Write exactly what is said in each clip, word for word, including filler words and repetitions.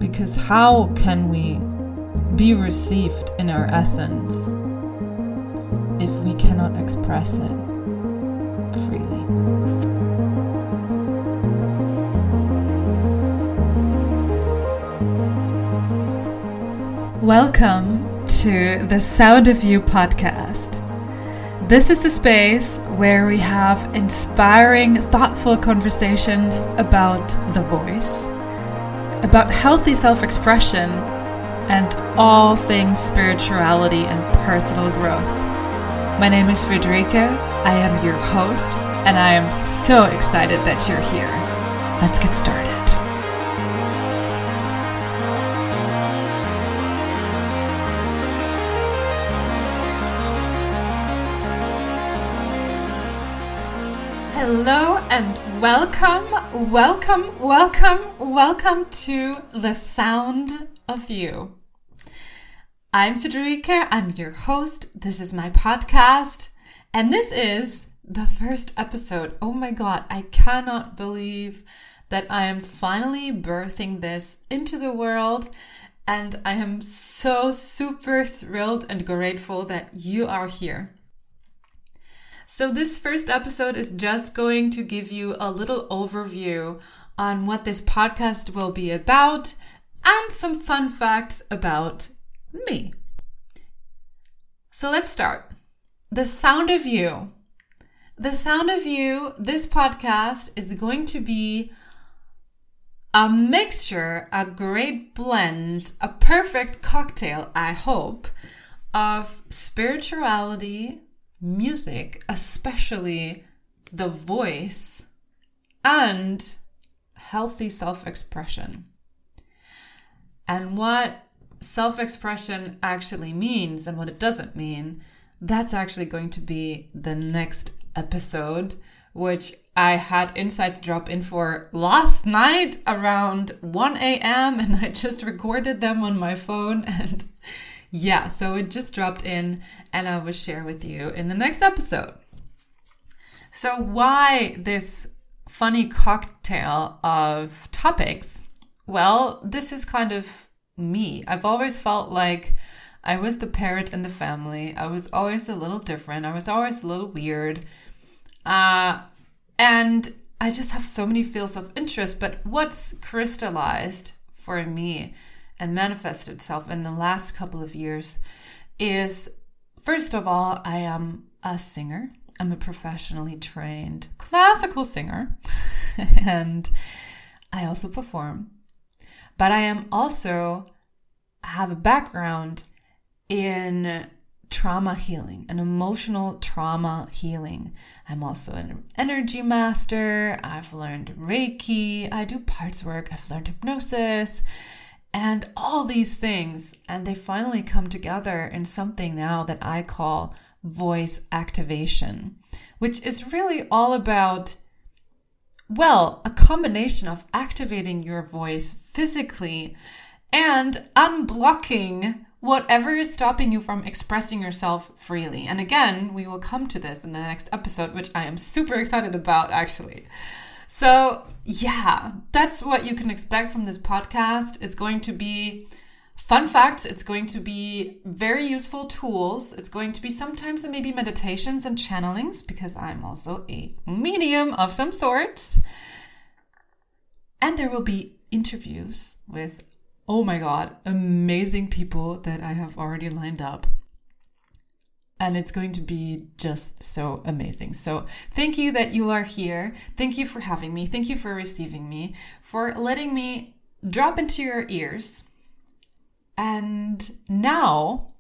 Because how can we be received in our essence if we cannot express it freely? Welcome to the Sound of You podcast. This is a space where we have inspiring, thoughtful conversations about the voice, about healthy self-expression, and all things spirituality and personal growth. My name is Frederica. I am your host, and I am so excited that you're here. Let's get started. Hello and welcome, welcome, welcome, welcome to the Sound of You. I'm Federica, I'm your host, this is my podcast, and this is the first episode. Oh my god, I cannot believe that I am finally birthing this into the world, and I am so super thrilled and grateful that you are here. So this first episode is just going to give you a little overview on what this podcast will be about and some fun facts about me. So let's start. The Sound of You. The Sound of You, this podcast is going to be a mixture, a great blend, a perfect cocktail, I hope, of spirituality, music, especially the voice, and healthy self-expression. And what self-expression actually means and what it doesn't mean, that's actually going to be the next episode, which I had insights drop in for last night around one a.m. and I just recorded them on my phone, and yeah, so it just dropped in and I will share with you in the next episode. So why this funny cocktail of topics? Well, this is kind of me. I've always felt like I was the parrot in the family. I was always a little different. I was always a little weird. Uh, and I just have so many fields of interest. But what's crystallized for me and manifested itself in the last couple of years is, first of all, I am a singer. I'm a professionally trained classical singer, and I also perform. But I am also have a background in trauma healing and emotional trauma healing. I'm also an energy master. I've learned Reiki. I do parts work. I've learned hypnosis. And all these things, and they finally come together in something now that I call voice activation, which is really all about, well, a combination of activating your voice physically and unblocking whatever is stopping you from expressing yourself freely. And again, we will come to this in the next episode, which I am super excited about, actually. So yeah, that's what you can expect from this podcast. It's going to be fun facts. It's going to be very useful tools. It's going to be sometimes maybe meditations and channelings, because I'm also a medium of some sorts. And there will be interviews with, oh my God, amazing people that I have already lined up. And it's going to be just so amazing. So thank you that you are here. Thank you for having me. Thank you for receiving me, for letting me drop into your ears. And now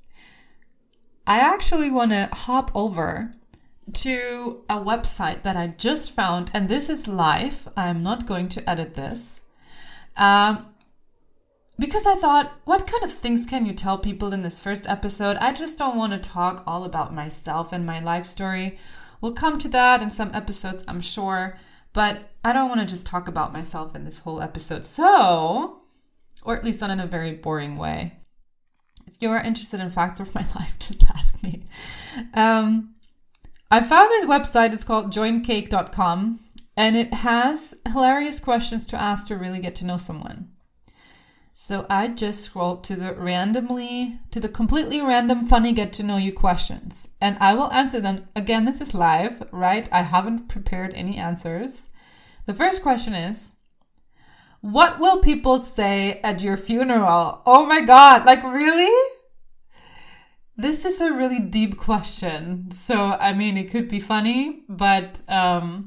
I actually want to hop over to a website that I just found. And this is live. I'm not going to edit this. Um, Because I thought, what kind of things can you tell people in this first episode? I just don't want to talk all about myself and my life story. We'll come to that in some episodes, I'm sure. But I don't want to just talk about myself in this whole episode. So, or at least not in a very boring way. If you're interested in facts of my life, just ask me. Um, I found this website. It's called join cake dot com. And it has hilarious questions to ask to really get to know someone. So I just scrolled to the randomly, to the completely random funny get to know you questions. And I will answer them. Again, this is live, right? I haven't prepared any answers. The first question is, what will people say at your funeral? Oh my God, like really? This is a really deep question. So, I mean, it could be funny, but um,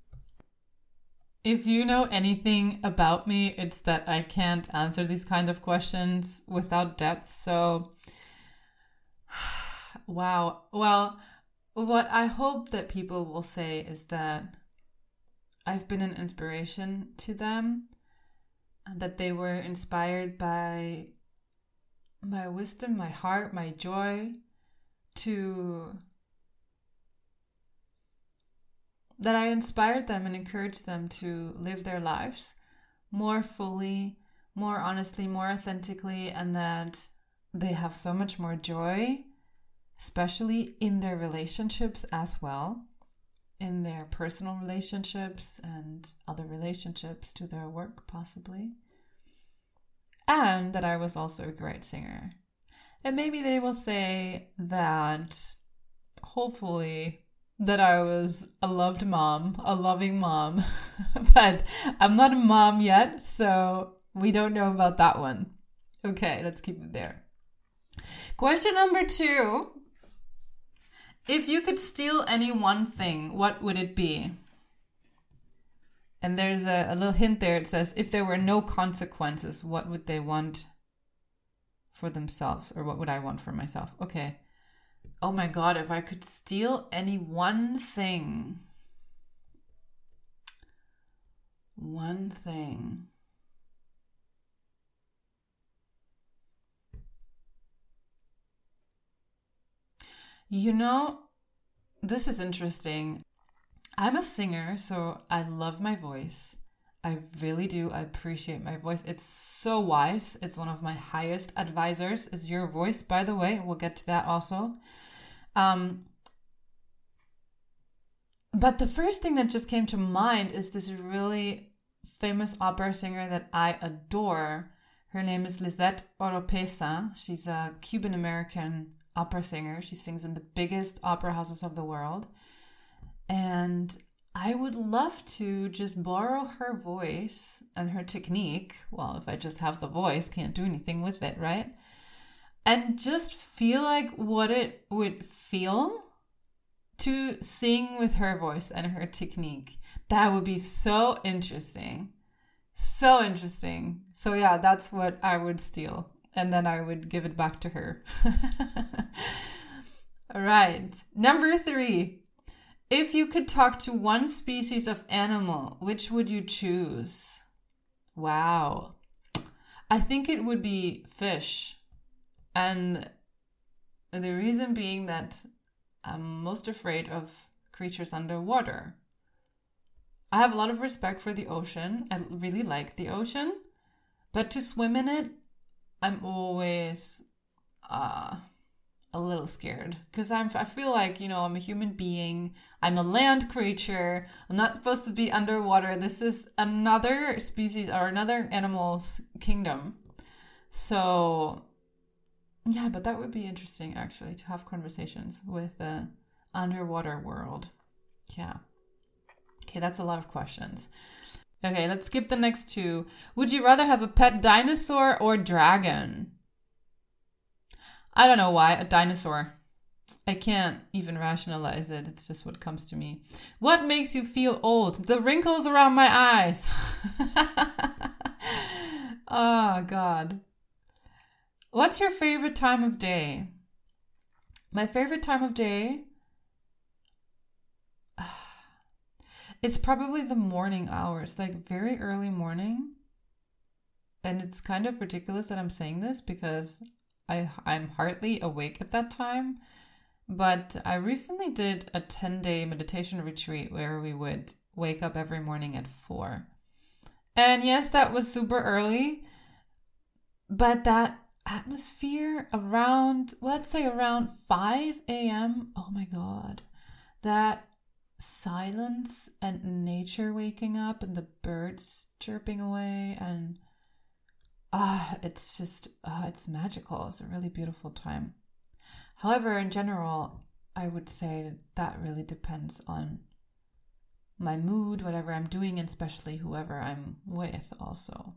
if you know anything about me, it's that I can't answer these kind of questions without depth. So, wow. Well, what I hope that people will say is that I've been an inspiration to them, that they were inspired by my wisdom, my heart, my joy, to that I inspired them and encouraged them to live their lives more fully, more honestly, more authentically, and that they have so much more joy, especially in their relationships as well, in their personal relationships and other relationships to their work, possibly. And that I was also a great singer. And maybe they will say that, hopefully, that I was a loved mom, a loving mom. But I'm not a mom yet, so we don't know about that one. Okay, let's keep it there. Question number two. If you could steal any one thing, what would it be? And there's a, a little hint there. It says, if there were no consequences, what would they want for themselves? Or what would I want for myself? Okay. Oh my God, if I could steal any one thing. One thing. You know, this is interesting. I'm a singer, so I love my voice. I really do. I appreciate my voice. It's so wise. It's one of my highest advisors, is your voice, by the way. We'll get to that also. Um, but the first thing that just came to mind is this really famous opera singer that I adore. Her name is Lisette Oropesa. She's a Cuban-American opera singer. She sings in the biggest opera houses of the world. And I would love to just borrow her voice and her technique. Well, if I just have the voice, can't do anything with it, right? And just feel like what it would feel to sing with her voice and her technique. That would be so interesting. So interesting. So yeah, that's what I would steal. And then I would give it back to her. All right. Number three. If you could talk to one species of animal, which would you choose? Wow. I think it would be fish. And the reason being that I'm most afraid of creatures underwater. I have a lot of respect for the ocean. I really like the ocean. But to swim in it, I'm always uh, a little scared. Because I'm, I feel like, you know, I'm a human being. I'm a land creature. I'm not supposed to be underwater. This is another species or another animal's kingdom. So, yeah, but that would be interesting, actually, to have conversations with the underwater world. Yeah. Okay, that's a lot of questions. Okay, let's skip the next two. Would you rather have a pet dinosaur or dragon? I don't know why. A dinosaur. I can't even rationalize it. It's just what comes to me. What makes you feel old? The wrinkles around my eyes. Oh, God. What's your favorite time of day? My favorite time of day? It's probably the morning hours, like very early morning. And it's kind of ridiculous that I'm saying this because I, I'm hardly awake at that time. But I recently did a ten-day meditation retreat where we would wake up every morning at four. And yes, that was super early. But that atmosphere around, let's say around five a.m., oh my God, that silence and nature waking up and the birds chirping away, and ah, uh, it's just, uh, it's magical. It's a really beautiful time. However, in general, I would say that really depends on my mood, whatever I'm doing, and especially whoever I'm with also.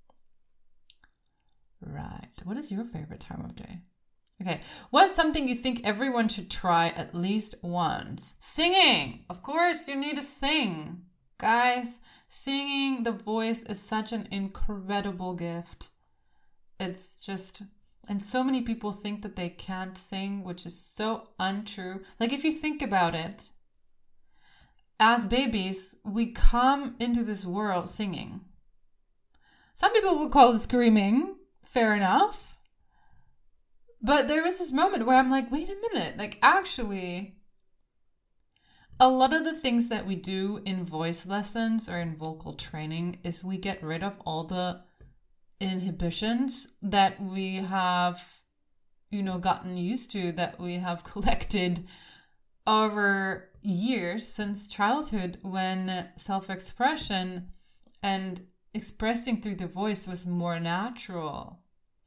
Right. What is your favorite time of day? Okay. What's something you think everyone should try at least once? Singing. Of course, you need to sing. Guys, singing, the voice is such an incredible gift. It's just... And so many people think that they can't sing, which is so untrue. Like, if you think about it, as babies, we come into this world singing. Some people would call it screaming. Fair enough. But there was this moment where I'm like, wait a minute. Like, actually, a lot of the things that we do in voice lessons or in vocal training is we get rid of all the inhibitions that we have, you know, gotten used to, that we have collected over years since childhood, when self-expression and expressing through the voice was more natural.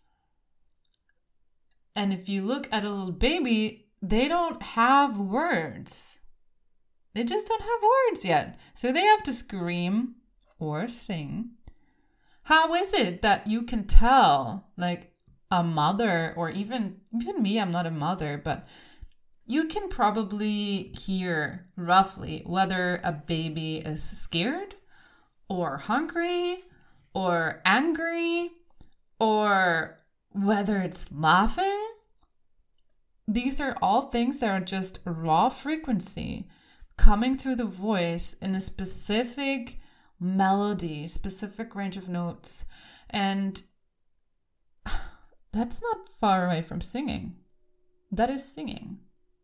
And if you look at a little baby, they don't have words. They just don't have words yet. So they have to scream or sing. How is it that you can tell, like, a mother, or even even me, I'm not a mother, but you can probably hear roughly whether a baby is scared or hungry or angry, or whether it's laughing? These are all things that are just raw frequency coming through the voice in a specific melody, specific range of notes. And that's not far away from singing. That is singing.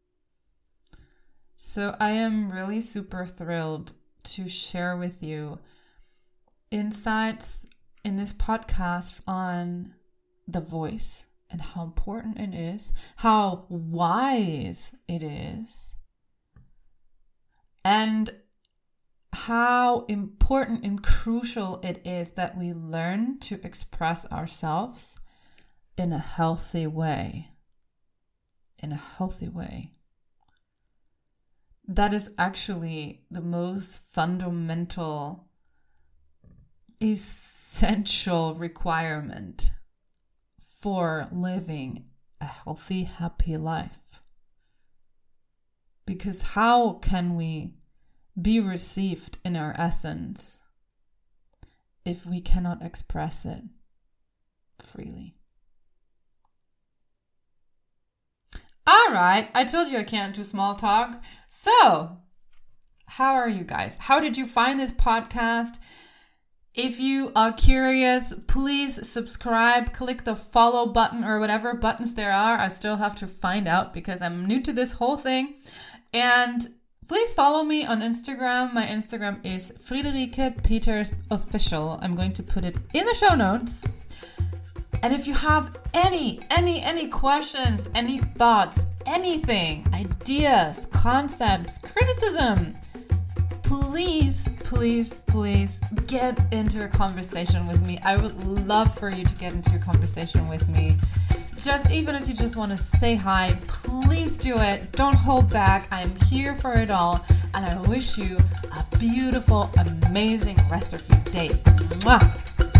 So I am really super thrilled to share with you insights in this podcast on the voice and how important it is, how wise it is, and how important and crucial it is that we learn to express ourselves in a healthy way. In a healthy way. That is actually the most fundamental, essential requirement for living a healthy, happy life. Because how can we be received in our essence if we cannot express it freely? All right, I told you I can't do small talk. So, how are you guys? How did you find this podcast? If you are curious, please subscribe, click the follow button or whatever buttons there are. I still have to find out because I'm new to this whole thing. And please follow me on Instagram. My Instagram is Friederike Peters Official. I'm going to put it in the show notes. And if you have any, any, any questions, any thoughts, anything, ideas, concepts, criticism, please, please, please get into a conversation with me. I would love for you to get into a conversation with me. Just even if you just want to say hi, please do it. Don't hold back. I'm here for it all. And I wish you a beautiful, amazing rest of your day. Mwah!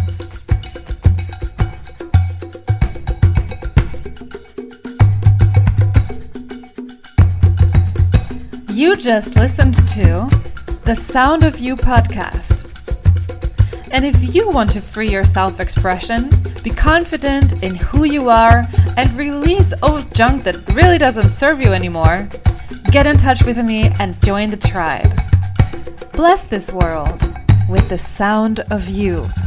You just listened to the Sound of You podcast. And if you want to free your self-expression, be confident in who you are, and release old junk that really doesn't serve you anymore, get in touch with me and join the tribe. Bless this world with the sound of you.